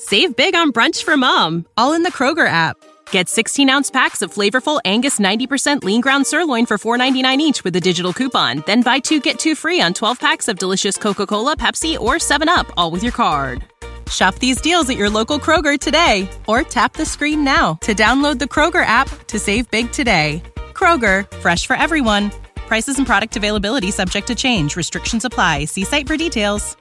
Save big on brunch for mom, all in the Kroger app. Get 16-ounce packs of flavorful Angus 90% lean ground sirloin for $4.99 each with a digital coupon. Then buy 2, get 2 free on 12 packs of delicious Coca-Cola, Pepsi, or 7-Up, all with your card. Shop these deals at your local Kroger today, or tap the screen now to download the Kroger app to save big today. Kroger, fresh for everyone. Prices and product availability subject to change. Restrictions apply. See site for details.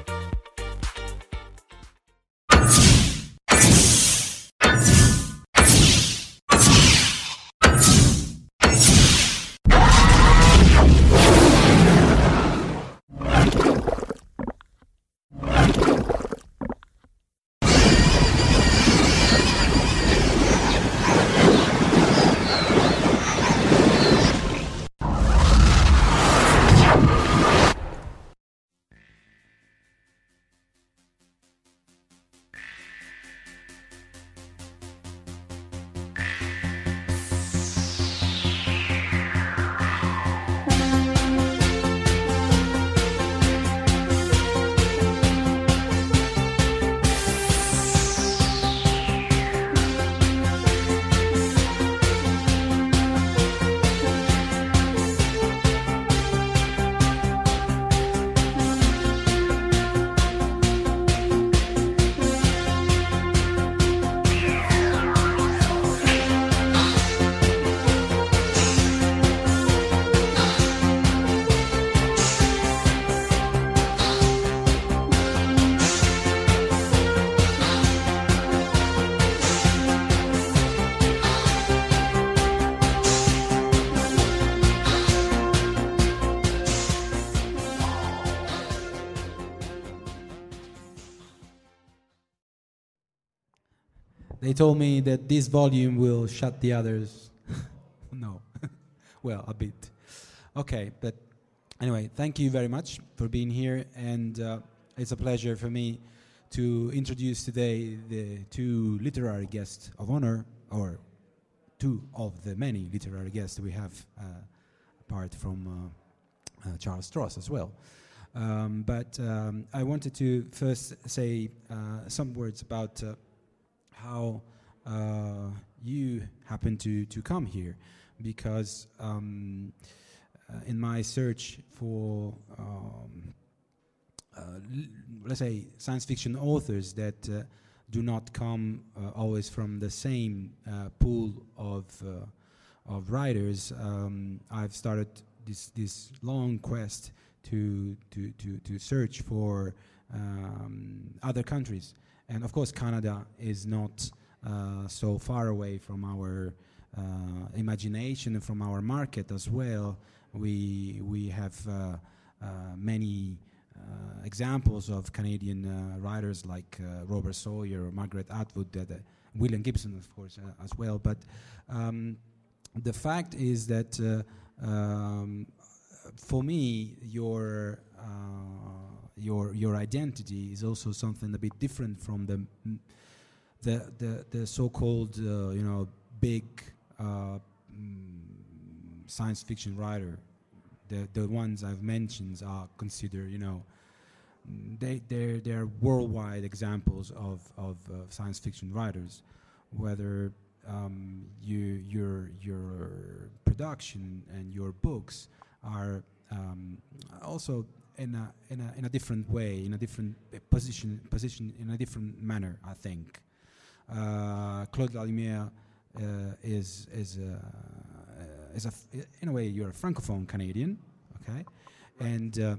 They told me that this volume will shut the others. No. Well, a bit. Okay, but anyway, thank you very much for being here, and it's a pleasure for me to introduce today the two literary guests of honor, or two of the many literary guests we have, apart from Charles Stross as well. But I wanted to first say some words about how you happen to come here, because in my search for let's say science fiction authors that do not come always from the same pool of writers, I've started this long quest to search for other countries. And of course, Canada is not so far away from our imagination and from our market as well. We have many examples of Canadian writers like Robert Sawyer or Margaret Atwood, William Gibson, of course, as well. But the fact is that for me, your identity is also something a bit different from the so-called big science fiction writer. The ones I've mentioned are considered they're worldwide examples of science fiction writers. Whether your production and your books are also in a different way, in a different position in a different manner, I think. Claude Lalumiere is in a way, you're a francophone Canadian, okay, and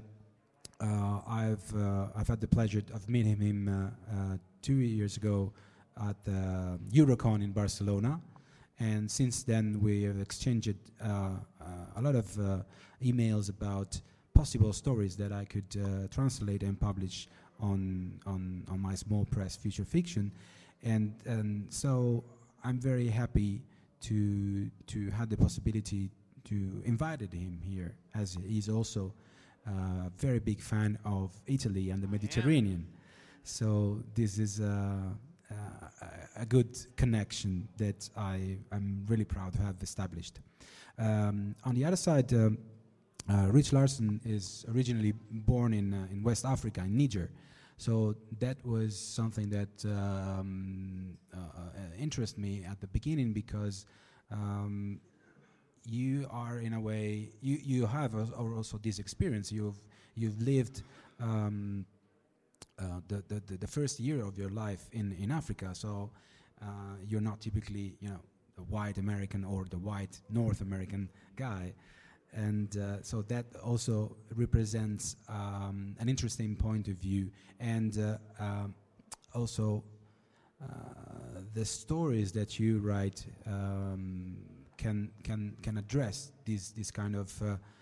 I've had the pleasure of meeting him 2 years ago at the Eurocon in Barcelona, and since then we have exchanged a lot of emails about possible stories that I could translate and publish on my small press Future Fiction, and so I'm very happy to have the possibility to invite him here, as he's also a very big fan of Italy and the Mediterranean. So this is a good connection that I'm really proud to have established. On the other side, Rich Larson is originally born in West Africa, in Niger. So that was something that interested me at the beginning, because you are, in a way, you have also this experience. You've lived the first year of your life in Africa, so you're not typically, the white American or the white North American guy, and so that also represents an interesting point of view, and also the stories that you write can address this kind of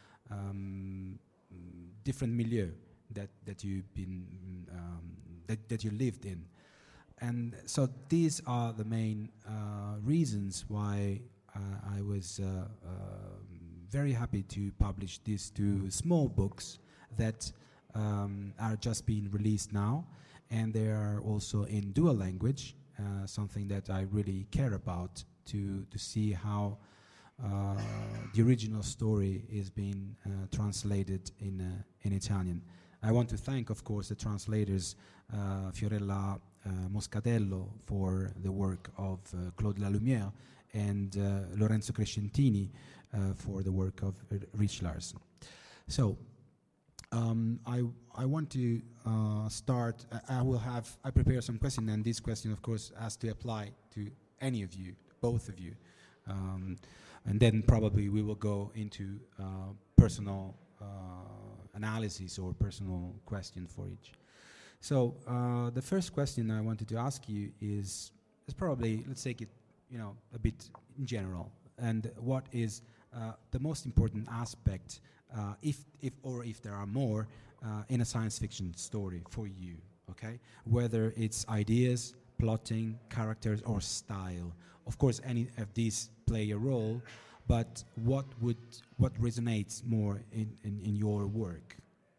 different milieu that you've been that you lived in, and so these are the main reasons why I was very happy to publish these two small books that are just being released now, and they are also in dual language, something that I really care about, to see how the original story is being translated in Italian. I want to thank, of course, the translators, Fiorella Moscatello for the work of Claude Lalumière, and Lorenzo Crescentini for the work of Rich Larson. So I want to start. I prepare some questions, and this question, of course, has to apply to any of you, both of you, and then probably we will go into personal analysis or personal question for each. So the first question I wanted to ask you is probably, let's take it, a bit in general, and what is the most important aspect, if there are more, in a science fiction story for you, okay? Whether it's ideas, plotting, characters, or style. Of course, any of these play a role, but what resonates more in your work?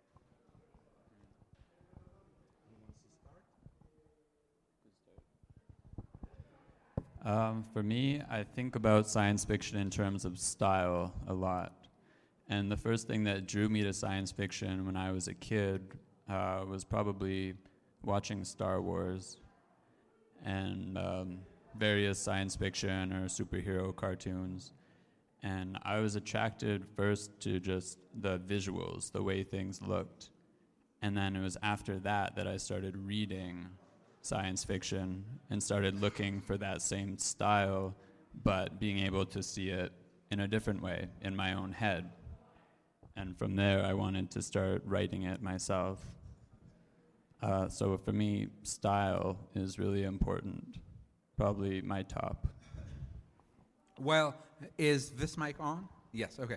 For me, I think about science fiction in terms of style a lot. And the first thing that drew me to science fiction when I was a kid was probably watching Star Wars and various science fiction or superhero cartoons. And I was attracted first to just the visuals, the way things looked. And then it was after that I started reading science fiction and started looking for that same style, but being able to see it in a different way in my own head. And from there, I wanted to start writing it myself. So for me, style is really important, probably my top. Well, is this mic on? Yes, okay.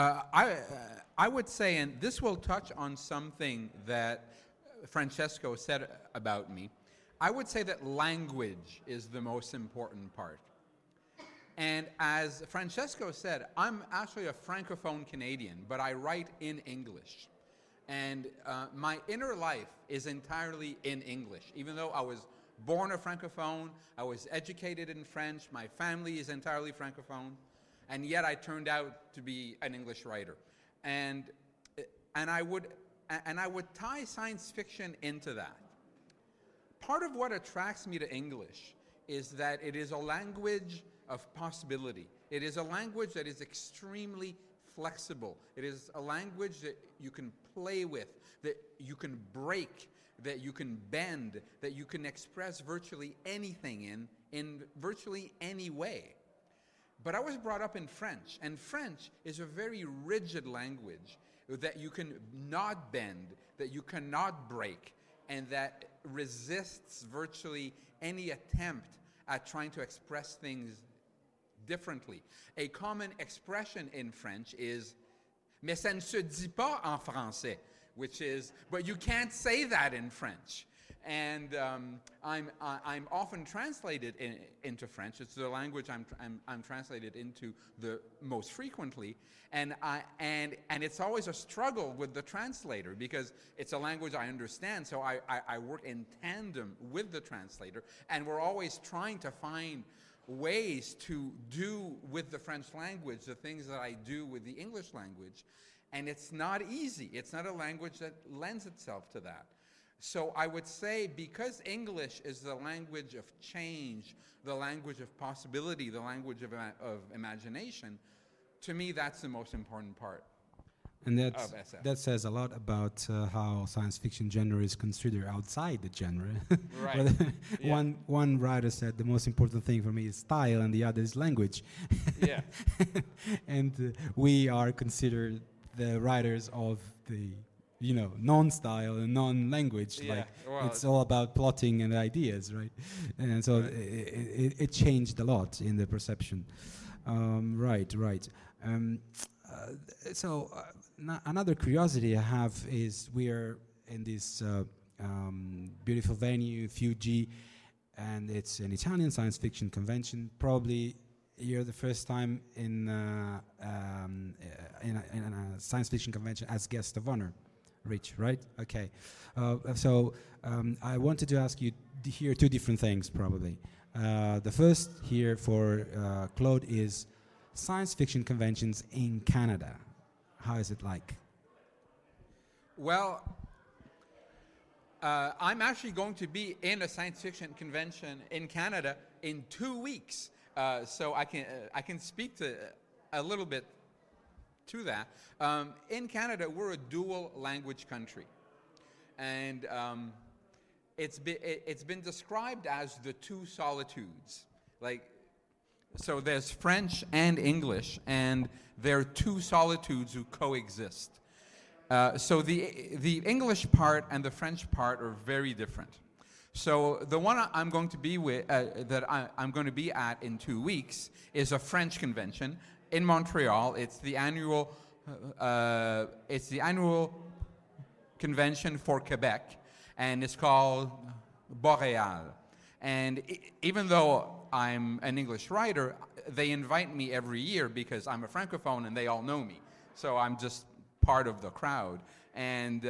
I would say, and this will touch on something that Francesco said about me, I would say that language is the most important part. And as Francesco said, I'm actually a Francophone Canadian, but I write in English. And my inner life is entirely in English. Even though I was born a Francophone, I was educated in French, my family is entirely Francophone, and yet I turned out to be an English writer. And I would tie science fiction into that. Part of what attracts me to English is that it is a language of possibility. It is a language that is extremely flexible. It is a language that you can play with, that you can break, that you can bend, that you can express virtually anything in virtually any way. But I was brought up in French, and French is a very rigid language that you can not bend, that you cannot break, and that resists virtually any attempt at trying to express things differently. A common expression in French is "mais ça ne se dit pas en français," which is, but you can't say that in French. And I'm often translated into French. It's the language I'm translated into the most frequently, and it's always a struggle with the translator because it's a language I understand. So I work in tandem with the translator, and we're always trying to find ways to do with the French language the things that I do with the English language, and it's not easy. It's not a language that lends itself to that. So I would say because English is the language of change, the language of possibility, the language of imagination, to me that's the most important part. And of SF. that says a lot about how science fiction genre is considered outside the genre. Right. Whether Yeah. one writer said the most important thing for me is style, and the other is language. Yeah. And we are considered the writers of the non-style and non-language. Yeah, Like well, it's all about plotting and ideas, right? And so Right. it changed a lot in the perception. Right. Another curiosity I have is we are in this beautiful venue, Fuji, and it's an Italian science fiction convention. Probably you're the first time in a science fiction convention as guest of honor, Rich, right? Okay. I wanted to ask you here two different things, probably. The first here for Claude is science fiction conventions in Canada. How is it like? Well, I'm actually going to be in a science fiction convention in Canada in 2 weeks, so I can speak to a little bit to that. In Canada, we're a dual language country, and it's been described as the two solitudes. So there's French and English, and there are two solitudes who coexist. So the English part and the French part are very different. So the one I'm going to be with, I'm going to be at in 2 weeks, is a French convention in Montreal. It's the annual convention for Quebec, and it's called Boréal. And even though I'm an English writer, they invite me every year because I'm a Francophone and they all know me. So I'm just part of the crowd. And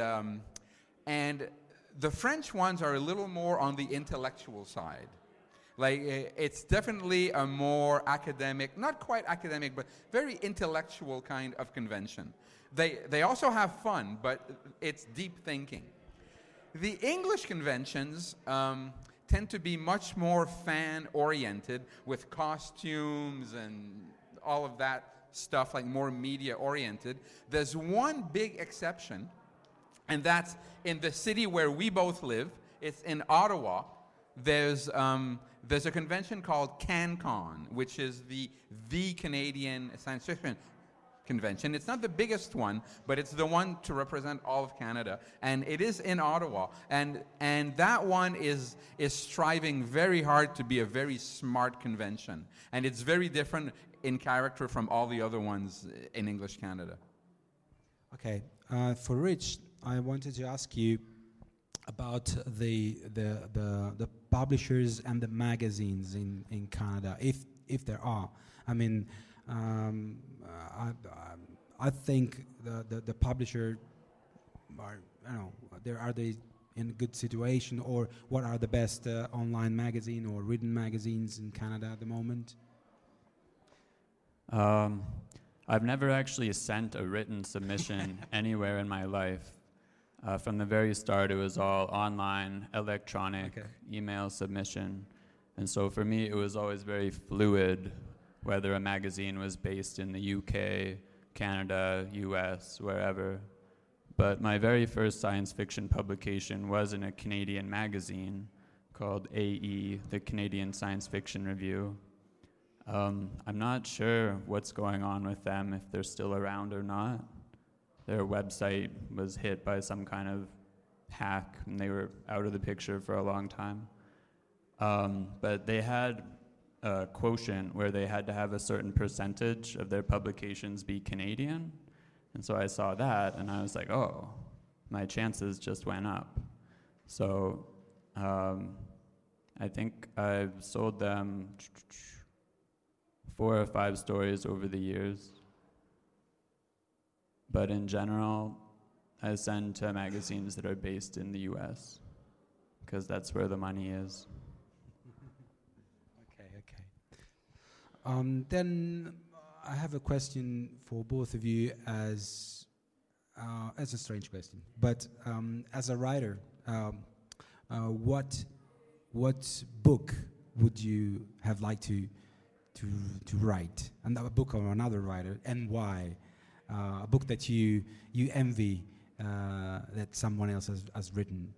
the French ones are a little more on the intellectual side. It's definitely a more academic, not quite academic, but very intellectual kind of convention. They also have fun, but it's deep thinking. The English conventions tend to be much more fan-oriented with costumes and all of that stuff, like more media-oriented. There's one big exception, and that's in the city where we both live. It's in Ottawa. There's a convention called CanCon, which is the Canadian science fiction convention. It's not the biggest one, but it's the one to represent all of Canada, and it is in Ottawa. And that one is striving very hard to be a very smart convention, and it's very different in character from all the other ones in English Canada. Okay, for Rich, I wanted to ask you about the publishers and the magazines in Canada, if there are. I mean, I think the publisher are they in a good situation, or what are the best online magazine or written magazines in Canada at the moment? I've never actually sent a written submission anywhere in my life. From the very start, it was all online, electronic, email submission. And so for me, it was always very fluid, whether a magazine was based in the UK, Canada, US, wherever. But my very first science fiction publication was in a Canadian magazine called AE, the Canadian Science Fiction Review. I'm not sure what's going on with them, if they're still around or not. Their website was hit by some kind of hack, and they were out of the picture for a long time. But they had a quotient where they had to have a certain percentage of their publications be Canadian. And so I saw that, and I was like, oh, my chances just went up. So I think I've sold them 4 or 5 stories over the years. But in general, I send to magazines that are based in the US, because that's where the money is. Okay. Then I have a question for both of you as a strange question, but as a writer, what book would you have liked to write? A book of another writer, and why? A book that you envy that someone else has written.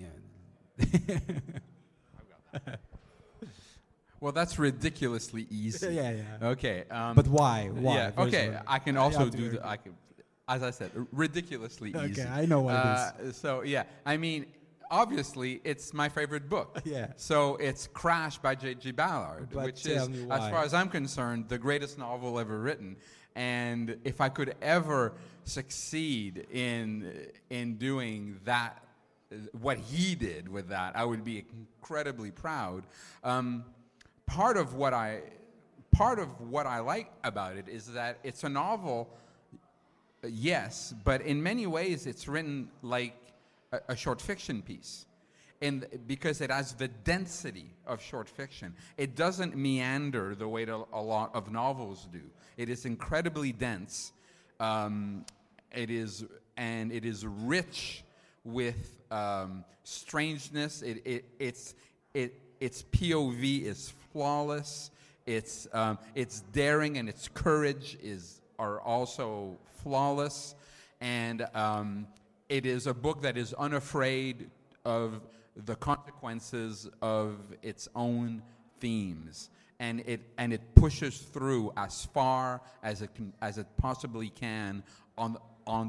Well, that's ridiculously easy. Yeah. Okay. But why? Why? Yeah. First Okay. of all, I can you also have to do agree. the. As I said, ridiculously easy. Okay, I know why it So yeah, I mean, obviously, it's my favorite book. Yeah. So it's Crash by J.G. Ballard, But which tell is, me as why. far as I'm concerned, the greatest novel ever written. And if I could ever succeed in doing that, what he did with that, I would be incredibly proud. Part of what I like about it is that it's a novel. Yes, but in many ways it's written like a short fiction piece. And because it has the density of short fiction. It doesn't meander the way that a lot of novels do. It is incredibly dense. It is rich with strangeness. Its POV is flawless. Its daring and its courage are also flawless, and it is a book that is unafraid of the consequences of its own themes, and it pushes through as far as it possibly can on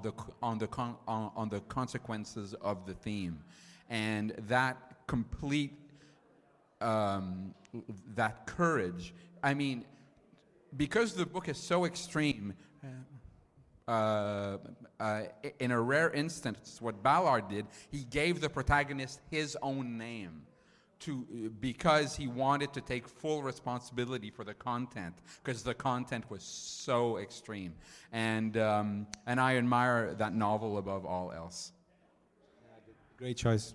the consequences of the theme, and that complete that courage. I mean, because the book is so extreme. In a rare instance, what Ballard did, he gave the protagonist his own name because he wanted to take full responsibility for the content, because the content was so extreme. And I admire that novel above all else. Great choice.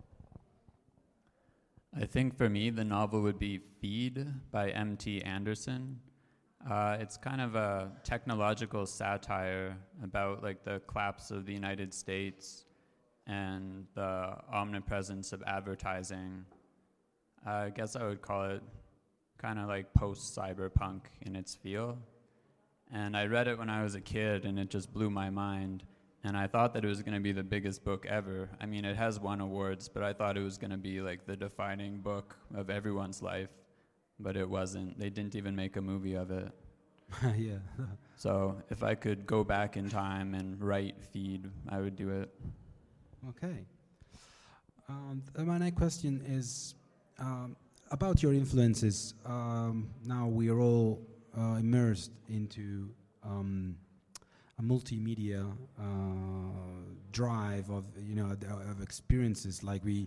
I think for me, the novel would be Feed by M.T. Anderson. It's kind of a technological satire about like the collapse of the United States and the omnipresence of advertising. I guess I would call it kind of like post-cyberpunk in its feel. And I read it when I was a kid, and it just blew my mind. And I thought that it was going to be the biggest book ever. I mean, it has won awards, but I thought it was going to be like the defining book of everyone's life. But it wasn't. They didn't even make a movie of it. Yeah. So if I could go back in time and write Feed, I would do it. Okay. My next question is about your influences. Now we are all immersed into a multimedia drive of experiences. Like we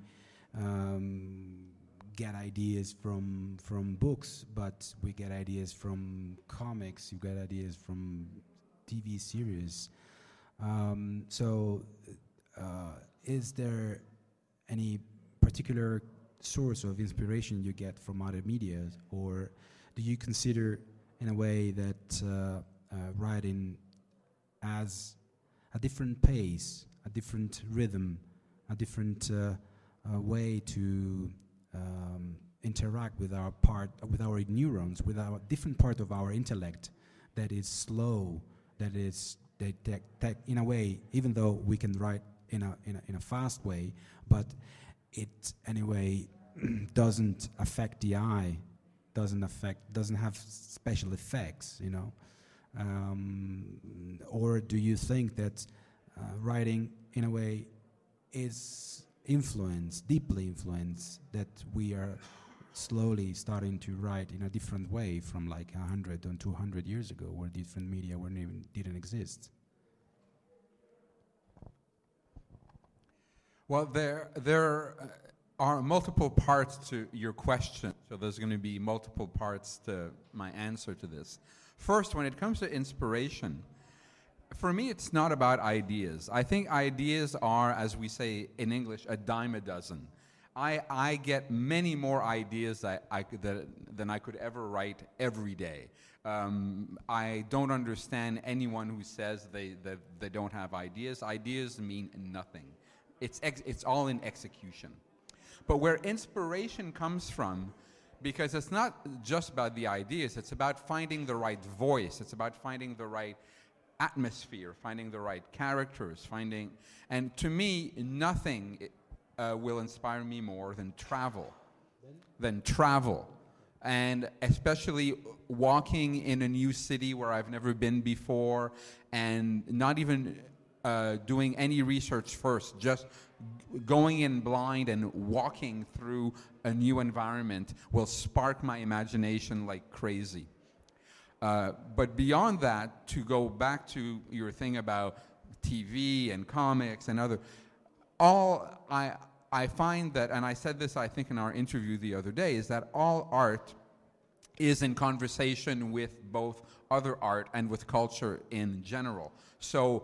get ideas from books, but we get ideas from comics. You get ideas from TV series. Is there any particular source of inspiration you get from other media, or do you consider in a way that writing has a different pace, a different rhythm, a different way to interact with our neurons, with our different part of our intellect that is slow, that in a way, even though we can write in a fast way, but it anyway doesn't affect the eye, doesn't have special effects, or do you think that writing in a way is deeply influenced, that we are slowly starting to write in a different way from like 100 and 200 years ago, where different media didn't exist? Well, there are multiple parts to your question, so there's going to be multiple parts to my answer to this. First, when it comes to inspiration, for me, it's not about ideas. I think ideas are, as we say in English, a dime a dozen. I get many more ideas than I could ever write every day. I don't understand anyone who says that they don't have ideas. Ideas mean nothing. it's all in execution. But where inspiration comes from, because it's not just about the ideas, it's about finding the right voice, it's about finding the right atmosphere, finding the right characters, and to me, nothing will inspire me more than travel. And especially walking in a new city where I've never been before, and not even doing any research first, just going in blind and walking through a new environment will spark my imagination like crazy. But beyond that, to go back to your thing about TV and comics and other, I find that, and I said this I think in our interview the other day, is that all art is in conversation with both other art and with culture in general. So,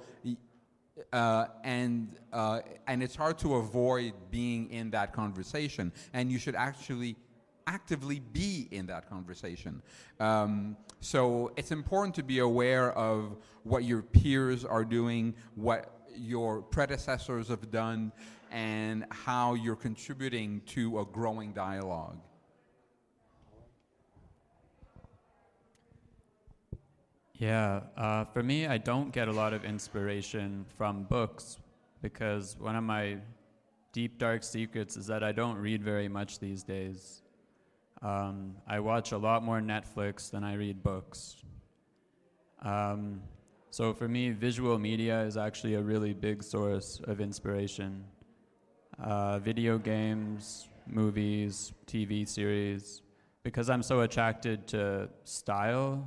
and it's hard to avoid being in that conversation, and you should actually actively be in that conversation. So it's important to be aware of what your peers are doing, what your predecessors have done, and how you're contributing to a growing dialogue. Yeah, for me, I don't get a lot of inspiration from books, because one of my deep, dark secrets is that I don't read very much these days. I watch a lot more Netflix than I read books. So for me, visual media is actually a really big source of inspiration. Video games, movies, TV series. Because I'm so attracted to style,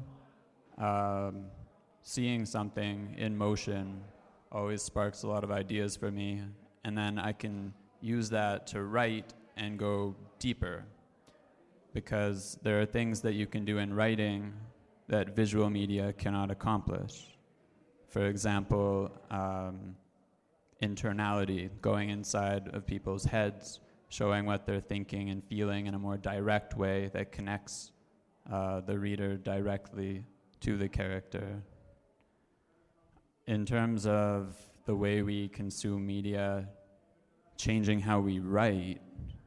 seeing something in motion always sparks a lot of ideas for me. And then I can use that to write and go deeper. Because there are things that you can do in writing that visual media cannot accomplish. For example, internality, going inside of people's heads, showing what they're thinking and feeling in a more direct way that connects the reader directly to the character. In terms of the way we consume media, changing how we write,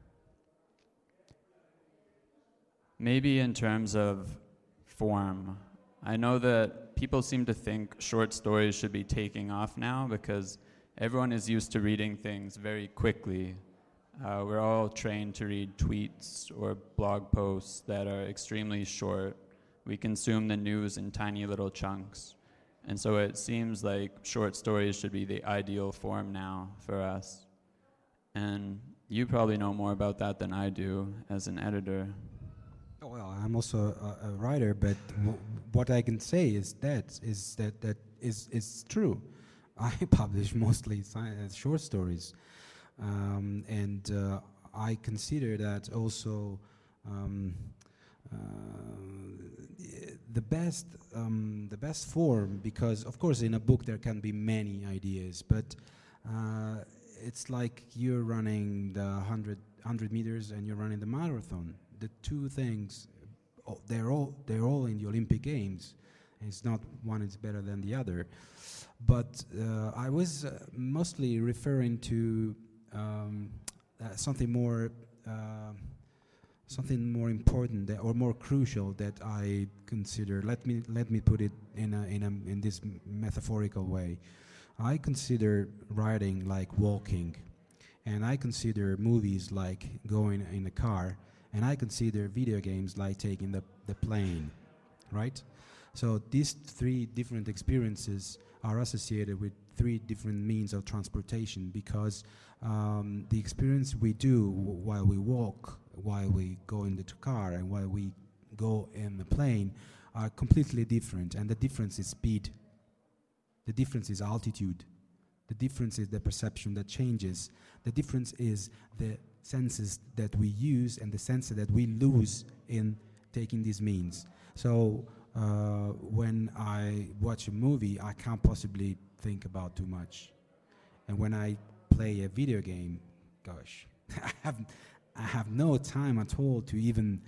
maybe in terms of form. I know that people seem to think short stories should be taking off now because everyone is used to reading things very quickly. We're all trained to read tweets or blog posts that are extremely short. We consume the news in tiny little chunks. And so it seems like short stories should be the ideal form now for us. And you probably know more about that than I do as an editor. Well, I'm also a writer, but what I can say is that is true. I publish mostly short stories, and I consider that also the best form, because of course in a book there can be many ideas, but it's like you're running the 100 meters and you're running the marathon. The two things, they're all in the Olympic Games. It's not one is better than the other. But I was mostly referring to something more important or more crucial that I consider. Let me put it in this metaphorical way. I consider writing like walking, and I consider movies like going in a car. And I consider video games like taking the plane, right? So these three different experiences are associated with three different means of transportation, because the experience we do while we walk, while we go in the car, and while we go in the plane are completely different. And the difference is speed. The difference is altitude. The difference is the perception that changes. The difference is the senses that we use and the senses that we lose in taking these means. So when I watch a movie, I can't possibly think about too much. And when I play a video game, gosh, I have no time at all to even,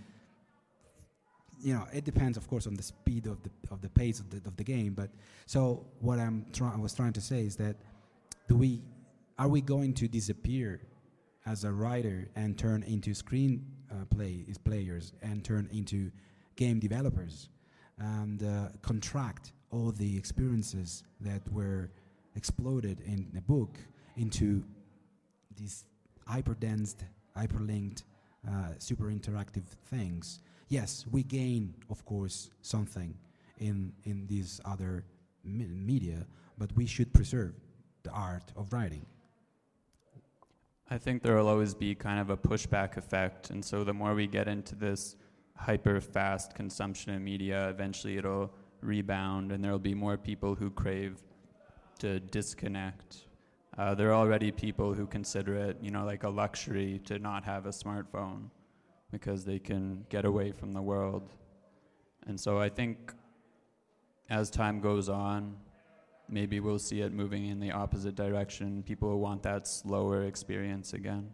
it depends, of course, on the speed of the pace of the game. But so what I was trying to say is that are we going to disappear as a writer and turn into players and turn into game developers and contract all the experiences that were exploded in the book into these hyper-densed, hyperlinked, super interactive things? Yes, we gain, of course, something in these other media, but we should preserve the art of writing. I think there will always be kind of a pushback effect, and so the more we get into this hyper-fast consumption of media, eventually it'll rebound, and there will be more people who crave to disconnect. There are already people who consider it, like a luxury to not have a smartphone because they can get away from the world. And so I think as time goes on, maybe we'll see it moving in the opposite direction. People will want that slower experience again.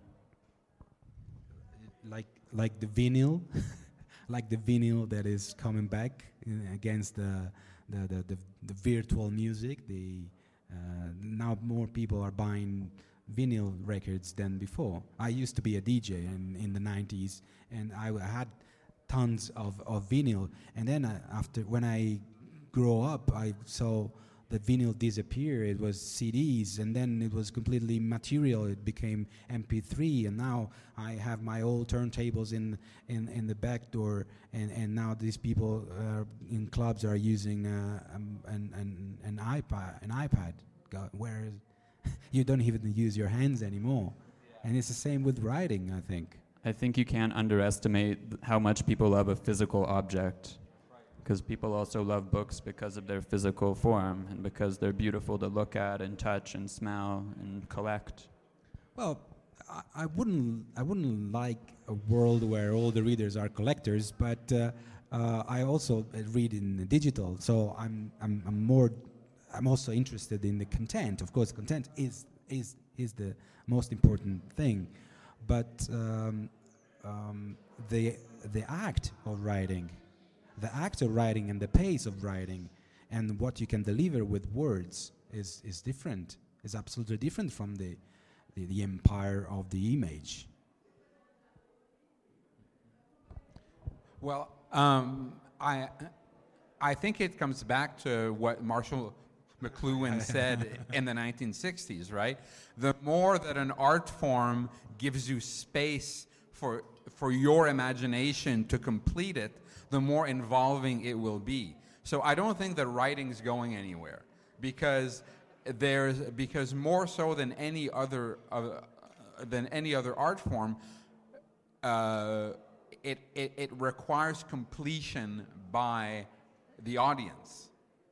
Like the vinyl, like the vinyl that is coming back against the virtual music. Now more people are buying vinyl records than before. I used to be a DJ in the 90s, and I had tons of vinyl. And then when I grew up, I saw the vinyl disappear. It was CDs, and then it was completely material. It became MP3, and now I have my old turntables in the back door, and now these people in clubs are using an iPad, where you don't even use your hands anymore. And it's the same with writing, I think. I think you can't underestimate how much people love a physical object. Because people also love books because of their physical form and because they're beautiful to look at and touch and smell and collect. Well, I wouldn't like a world where all the readers are collectors, but I also read in digital, so I'm also interested in the content. Of course, content is the most important thing, but the act of writing. The act of writing and the pace of writing and what you can deliver with words is different. Is absolutely different from the empire of the image. Well, I think it comes back to what Marshall McLuhan said in the 1960s, right? The more that an art form gives you space for your imagination to complete it, the more involving it will be. So I don't think that writing's going anywhere, because more so than any other art form, it requires completion by the audience.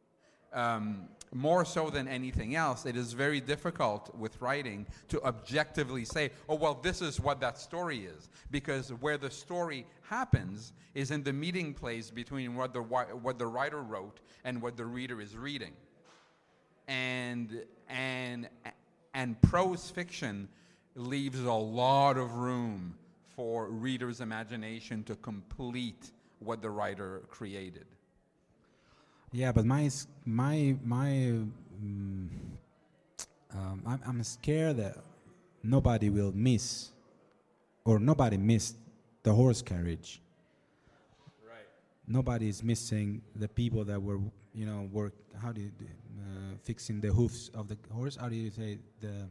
More so than anything else, it is very difficult with writing to objectively say, oh, well, this is what that story is. Because where the story happens is in the meeting place between what the writer wrote and what the reader is reading. And prose fiction leaves a lot of room for readers' imagination to complete what the writer created. Yeah, but I'm scared that nobody will miss, or nobody missed the horse carriage. Right. Nobody is missing the people that were, fixing the hoofs of the horse. How do you say the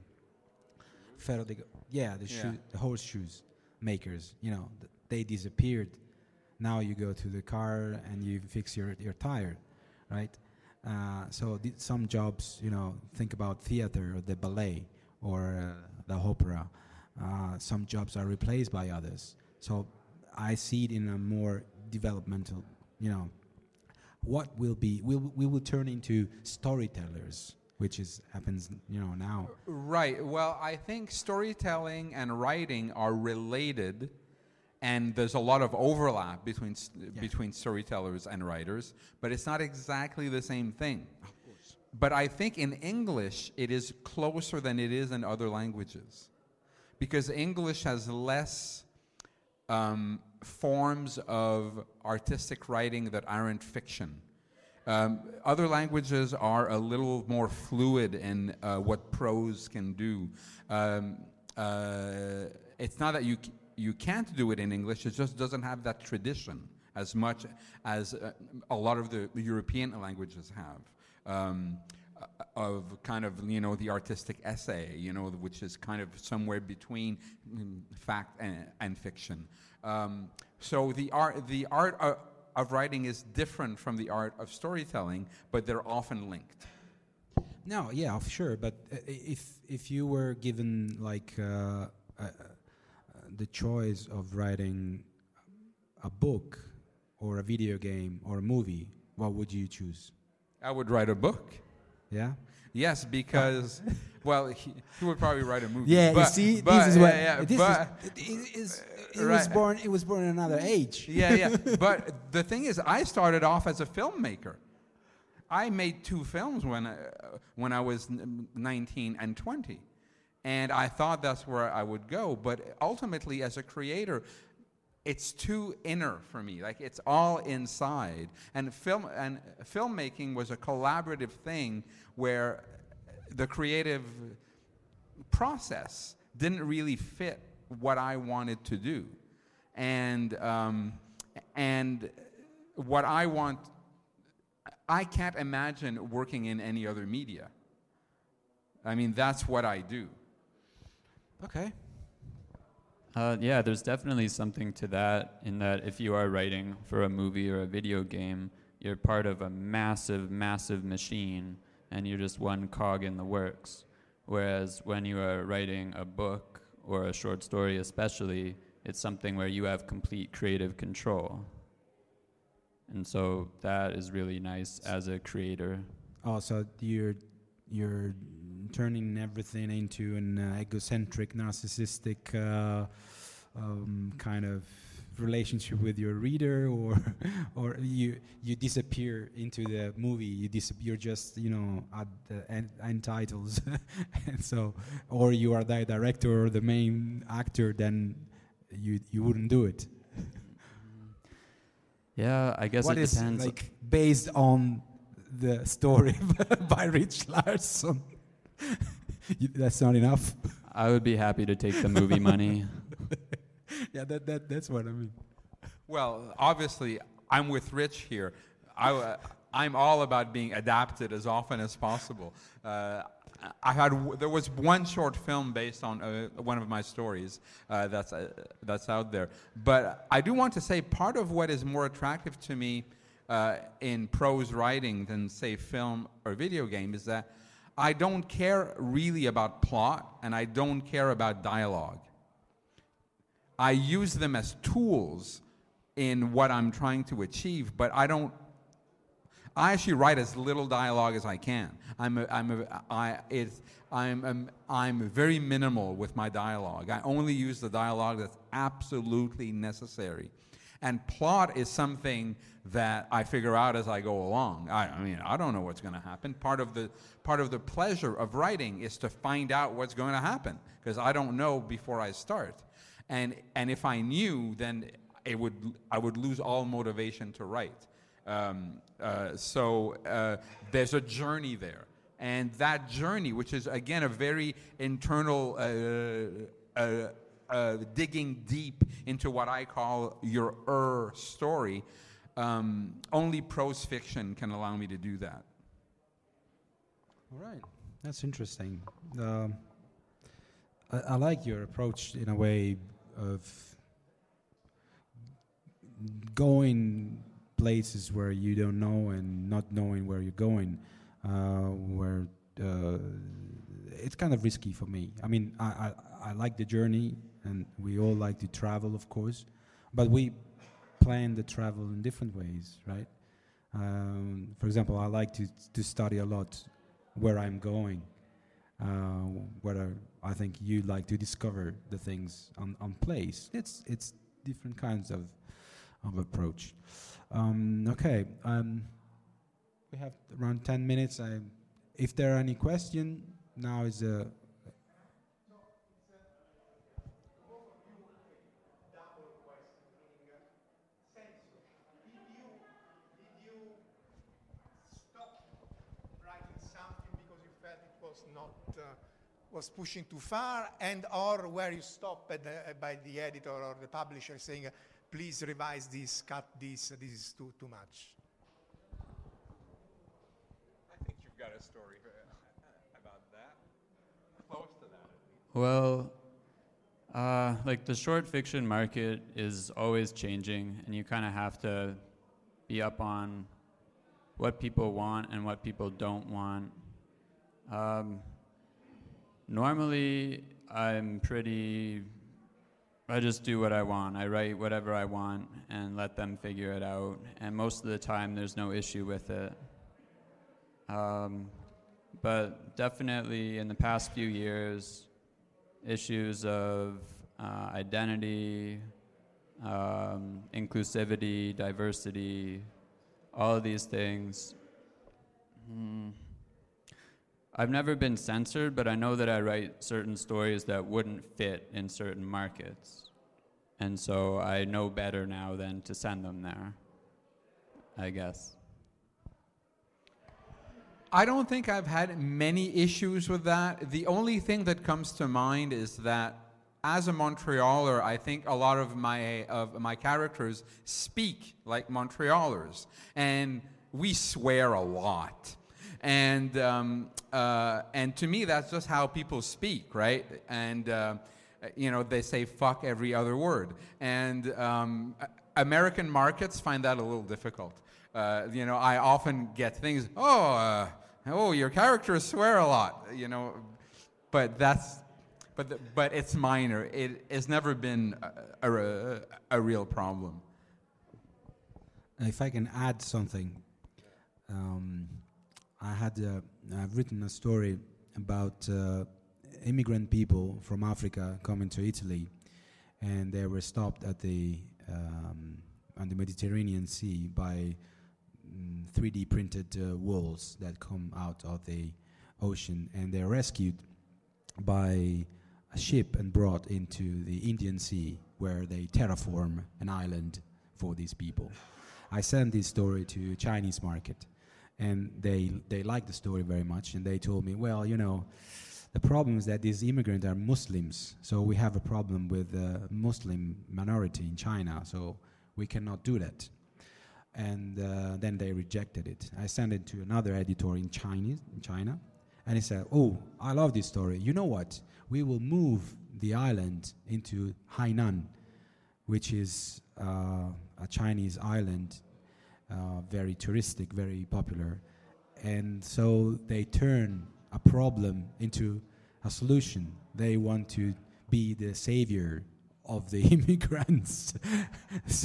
horseshoes makers? They disappeared. Now you go to the car and you fix your tire. Right, so some jobs, think about theater or the ballet or the opera. Some jobs are replaced by others. So I see it in a more developmental. What will be? We will turn into storytellers, which happens, now. Right. Well, I think storytelling and writing are related. And there's a lot of overlap between storytellers and writers, but it's not exactly the same thing. Of course. But I think in English, it is closer than it is in other languages. Because English has less forms of artistic writing that aren't fiction. Other languages are a little more fluid in what prose can do. It's not that you can't do it in English, it just doesn't have that tradition as much as a lot of the European languages have. Of kind of, the artistic essay, which is kind of somewhere between fact and fiction. So the art of writing is different from the art of storytelling, but they're often linked. No, yeah, sure. But if you were given like the choice of writing a book or a video game or a movie, what would you choose? I would write a book. Yeah. Yes, because he would probably write a movie. Yeah, you see, this is what it was born in another age. Yeah. But the thing is, I started off as a filmmaker. I made 2 films when I was 19 and 20, and I thought that's where I would go. But ultimately, as a creator, it's too inner for me. Like, it's all inside. And filmmaking was a collaborative thing where the creative process didn't really fit what I wanted to do. And what I want, I can't imagine working in any other media. I mean, that's what I do. Okay. Yeah, there's definitely something to that, in that if you are writing for a movie or a video game, you're part of a massive, massive machine, and you're just one cog in the works. Whereas when you are writing a book or a short story especially, it's something where you have complete creative control. And so that is really nice as a creator. Oh, so you're turning everything into an egocentric, narcissistic kind of relationship with your reader, or you disappear into the movie. You're just at the end titles, and so, or you are the director or the main actor, then you wouldn't do it. Yeah, I guess what it is depends. Like based on the story by Rich Larson. That's not enough. I would be happy to take the movie money. Yeah, that's what I mean. Well, obviously, I'm with Rich here. I'm all about being adapted as often as possible. There was one short film based on one of my stories that's out there. But I do want to say part of what is more attractive to me in prose writing than, say, film or video game is that I don't care really about plot, and I don't care about dialogue. I use them as tools in what I'm trying to achieve, but I actually write as little dialogue as I can. I'm very minimal with my dialogue. I only use the dialogue that's absolutely necessary. And plot is something that I figure out as I go along. I mean, I don't know what's going to happen. Part of the pleasure of writing is to find out what's going to happen, because I don't know before I start. And if I knew, then I would lose all motivation to write. So there's a journey there, and that journey, which is again a very internal digging deep into what I call your story. Only prose fiction can allow me to do that. All right, that's interesting. I like your approach in a way of going places where you don't know and not knowing where you're going, where it's kind of risky for me. I mean, I like the journey, and we all like to travel, of course, but we plan the travel in different ways, right? For example, I like to study a lot where I'm going, whether I think you like to discover the things on place. It's different kinds of approach. Okay, we have around 10 minutes. If there are any questions, now is a... was pushing too far, and or where you stop by the editor or the publisher saying, please revise this, cut this is too much? I think you've got a story about that. Close to that. Well, like the short fiction market is always changing, and you kind of have to be up on what people want and what people don't want. Normally, I just do what I want. I write whatever I want and let them figure it out. And most of the time, there's no issue with it. But definitely in the past few years, issues of identity, inclusivity, diversity, all of these things. I've never been censored, but I know that I write certain stories that wouldn't fit in certain markets. And so I know better now than to send them there, I guess. I don't think I've had many issues with that. The only thing that comes to mind is that as a Montrealer, I think a lot of my characters speak like Montrealers, and we swear a lot. And to me, that's just how people speak, right? And they say "fuck" every other word. And American markets find that a little difficult. I often get things. Oh, your characters swear a lot. But it's minor. It has never been a real problem. If I can add something. I've written a story about immigrant people from Africa coming to Italy, and they were stopped at on the Mediterranean Sea by 3D printed walls that come out of the ocean, and they're rescued by a ship and brought into the Indian Sea, where they terraform an island for these people. I sent this story to Chinese market. And they liked the story very much, and they told me, well, the problem is that these immigrants are Muslims, so we have a problem with the Muslim minority in China, so we cannot do that. And then they rejected it. I sent it to another editor in China, and he said, oh, I love this story. You know what? We will move the island into Hainan, which is a Chinese island, very touristic, very popular. And so they turn a problem into a solution. They want to be the savior of the immigrants. So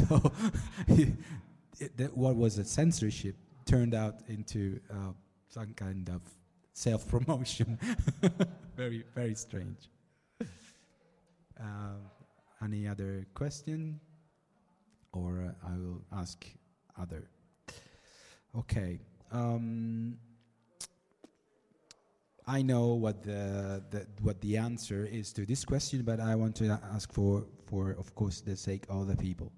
what was a censorship turned out into some kind of self-promotion. Very, very strange. Any other question? Or I will ask other. Okay. I know what the answer is to this question, but I want to ask for of course the sake of the people.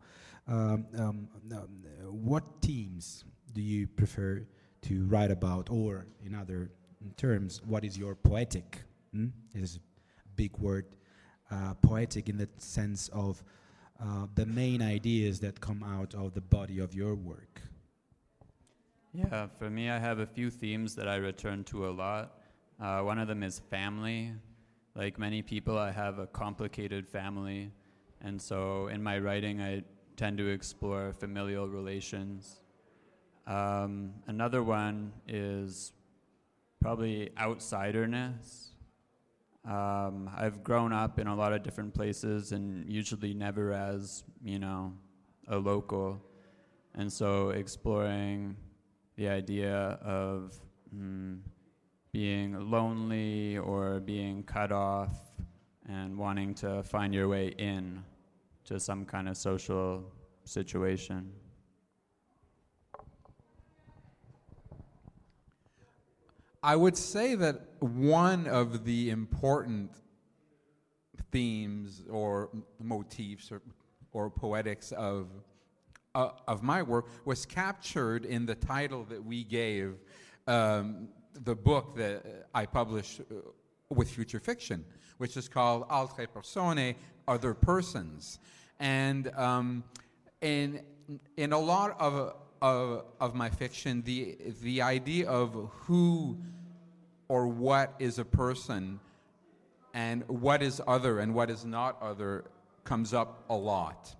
What themes do you prefer to write about, or in other terms, what is your poetic? It is a big word. Poetic in the sense of the main ideas that come out of the body of your work. Yeah, for me, I have a few themes that I return to a lot. One of them is family. Like many people, I have a complicated family, and so in my writing, I tend to explore familial relations. Another one is probably outsiderness. I've grown up in a lot of different places, and usually never as, a local. And so exploring the idea of being lonely or being cut off and wanting to find your way in to some kind of social situation. I would say that one of the important themes or motifs or poetics of my work was captured in the title that we gave the book that I published with Future Fiction, which is called Altre Persone, Other Persons. And in a lot of my fiction, the idea of who or what is a person and what is other and what is not other comes up a lot.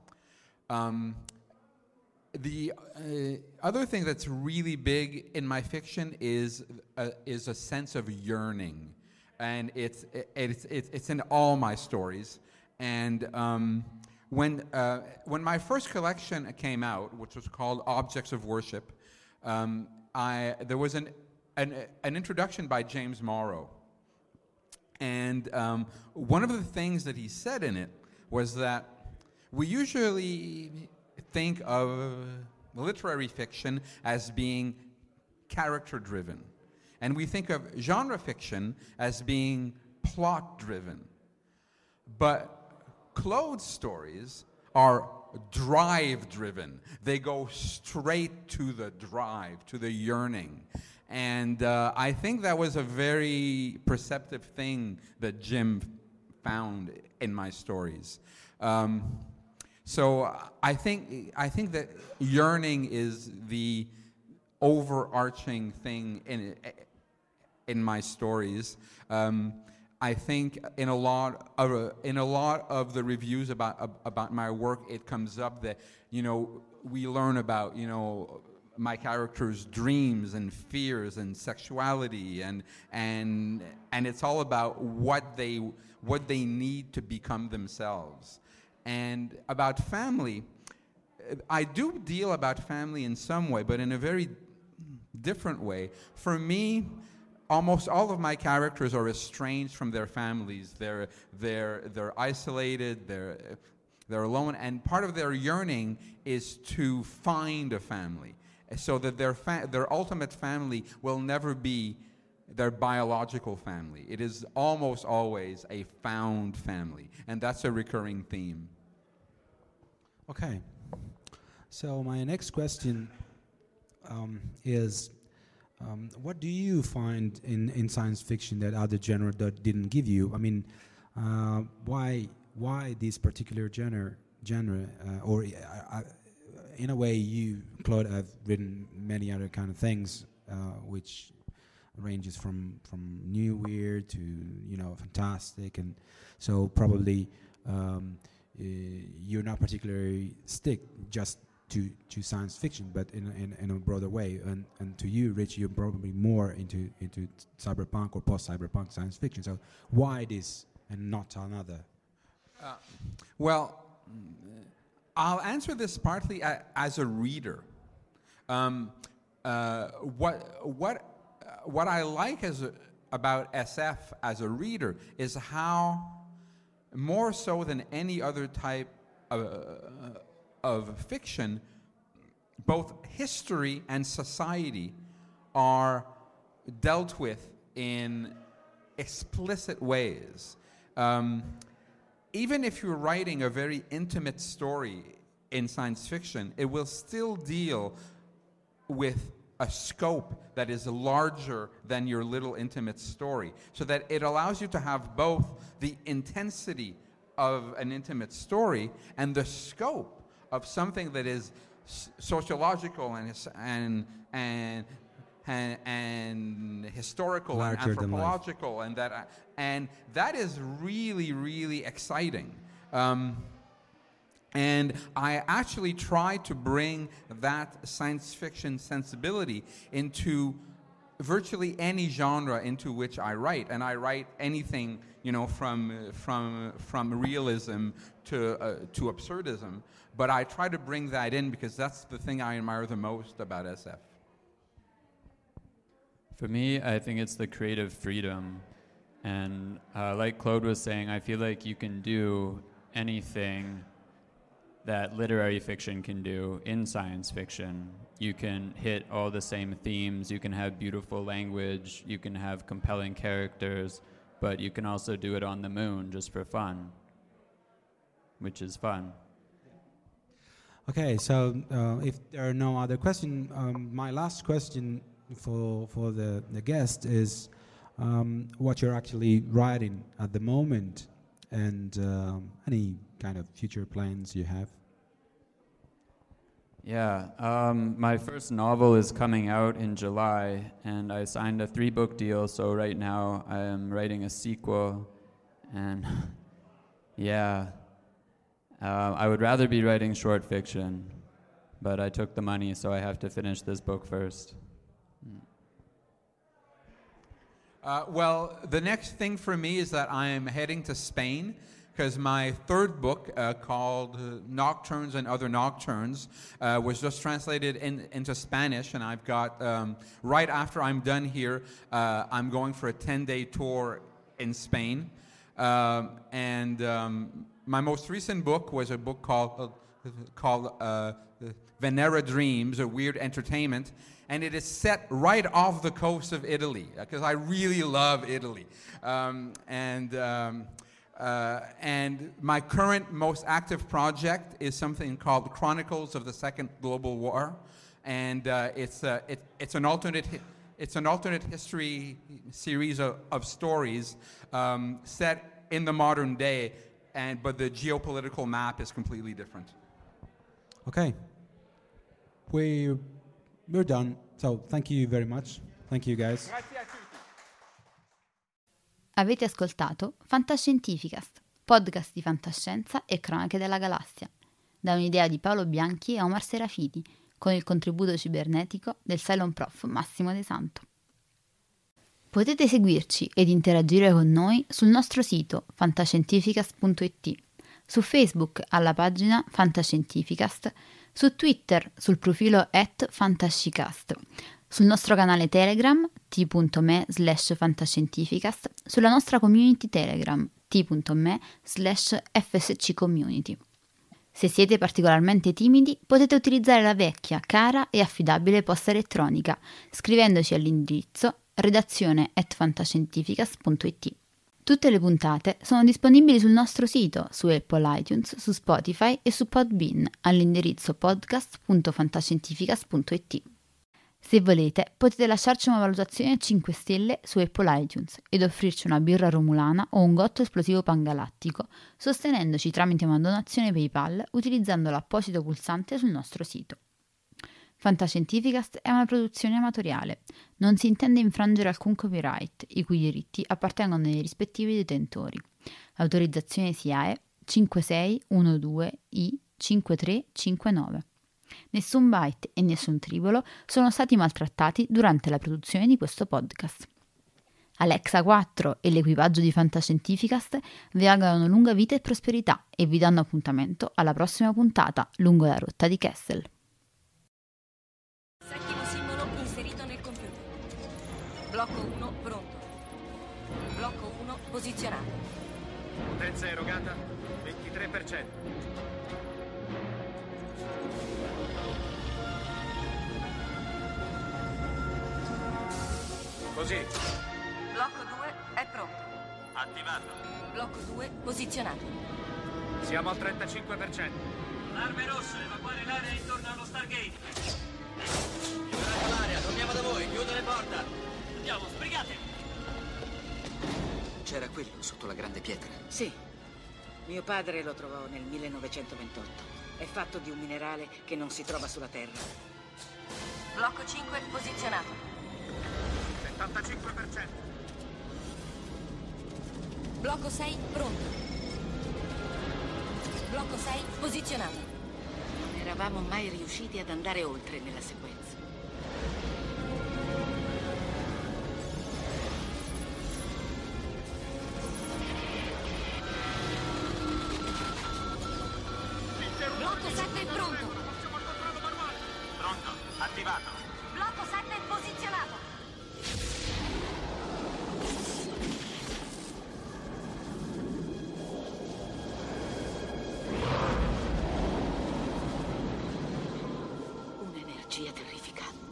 The other thing that's really big in my fiction is a sense of yearning, and it's in all my stories. And when my first collection came out, which was called Objects of Worship, there was an introduction by James Morrow, and one of the things that he said in it was that we usually think of literary fiction as being character-driven, and we think of genre fiction as being plot-driven. But Claude's stories are drive-driven. They go straight to the drive, to the yearning. And I think that was a very perceptive thing that Jim found in my stories. So I think that yearning is the overarching thing in my stories. I think in a lot of the reviews about my work, it comes up that we learn about my characters' dreams and fears and sexuality and it's all about what they need to become themselves. And about family, I do deal about family in some way, but in a very different way. For me, almost all of my characters are estranged from their families. They're isolated. They're alone, and part of their yearning is to find a family, so that their ultimate family will never be their biological family. It is almost always a found family, and that's a recurring theme. Okay. So my next question is, what do you find in science fiction that other genre didn't give you? I mean, why this particular genre? Or in a way, you, Claude, have written many other kind of things, which ranges from new, weird to fantastic, and so probably you're not particularly stick just to science fiction, but in a broader way. And to you, Rich, you're probably more into cyberpunk or post-cyberpunk science fiction. So why this and not another? Well, I'll answer this partly as a reader. What I like about SF as a reader is how, more so than any other type of fiction, both history and society are dealt with in explicit ways. Even if you're writing a very intimate story in science fiction, it will still deal with a scope that is larger than your little intimate story, so that it allows you to have both the intensity of an intimate story and the scope of something that is sociological and historical larger and anthropological, and that is really, really exciting. And I actually try to bring that science fiction sensibility into virtually any genre into which I write, and I write anything, from realism to absurdism. But I try to bring that in because that's the thing I admire the most about SF. For me, I think it's the creative freedom, and like Claude was saying, I feel like you can do anything that literary fiction can do in science fiction. You can hit all the same themes, you can have beautiful language, you can have compelling characters, but you can also do it on the moon just for fun, which is fun. Okay, so if there are no other questions, my last question for the guest is what you're actually writing at the moment, and any kind of future plans you have. Yeah, my first novel is coming out in July, and I signed a 3-book deal, so right now I am writing a sequel, and yeah, I would rather be writing short fiction, but I took the money, so I have to finish this book first. Well, the next thing for me is that I am heading to Spain, because my third book, called Nocturnes and Other Nocturnes, was just translated into Spanish, and I've got, right after I'm done here, I'm going for a 10-day tour in Spain. My most recent book was a book called Venera Dreams, a weird entertainment, and it is set right off the coast of Italy, because I really love Italy. And my current most active project is something called Chronicles of the Second Global War, and it's an alternate history series of stories set in the modern day, but the geopolitical map is completely different. Okay, we're done. So thank you very much. Thank you, guys. Grazie a tutti. Avete ascoltato Fantascientificast, podcast di fantascienza e cronache della galassia, da un'idea di Paolo Bianchi e Omar Serafiti, con il contributo cibernetico del Cylon Prof Massimo De Santo. Potete seguirci ed interagire con noi sul nostro sito fantascientificast.it, su Facebook alla pagina Fantascientificast, su Twitter sul profilo @fantascicast, sul nostro canale Telegram t.me/fantascientificast, sulla nostra community Telegram t.me/fsccommunity. Se siete particolarmente timidi, potete utilizzare la vecchia, cara e affidabile posta elettronica, scrivendoci all'indirizzo redazione@fantascientificast.it. Tutte le puntate sono disponibili sul nostro sito, su Apple iTunes, su Spotify e su Podbean, all'indirizzo podcast.fantascientificast.it. Se volete, potete lasciarci una valutazione a 5 stelle su Apple iTunes ed offrirci una birra romulana o un gotto esplosivo pangalattico, sostenendoci tramite una donazione PayPal utilizzando l'apposito pulsante sul nostro sito. Fantascientificast è una produzione amatoriale. Non si intende infrangere alcun copyright, i cui diritti appartengono ai rispettivi detentori. L'autorizzazione SIAE 5612I5359. Nessun byte e nessun tribolo sono stati maltrattati durante la produzione di questo podcast. Alexa 4 e l'equipaggio di Fantascientificast vi augurano lunga vita e prosperità e vi danno appuntamento alla prossima puntata lungo la rotta di Kessel. Settimo simbolo inserito nel computer. Blocco 1 pronto. Blocco 1 posizionato. Potenza erogata 23%. Così. Blocco 2 è pronto. Attivato. Blocco 2 posizionato. Siamo al 35%. Arme rosse, evacuare l'area intorno allo Stargate. Liberate l'area, torniamo da voi, chiudo le porte. Andiamo, sbrigate. C'era quello sotto la grande pietra. Sì. Mio padre lo trovò nel 1928. È fatto di un minerale che non si trova sulla Terra. Blocco 5 posizionato. 75%. Blocco 6 pronto. Blocco 6 posizionato. Non eravamo mai riusciti ad andare oltre nella sequenza. Blocco 7 pronto. Pronto, attivato. Blocco 7 posizionato. Un'energia terrificante.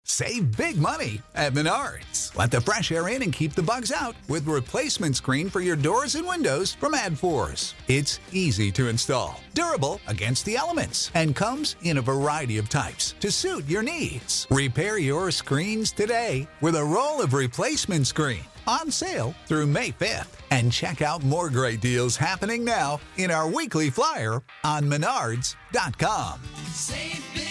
Save big money at Menards. Let the fresh air in and keep the bugs out with replacement screen for your doors and windows from AdForce. It's easy to install, durable against the elements, and comes in a variety of types to suit your needs. Repair your screens today with a roll of replacement screen on sale through May 5th. And check out more great deals happening now in our weekly flyer on Menards.com. Save big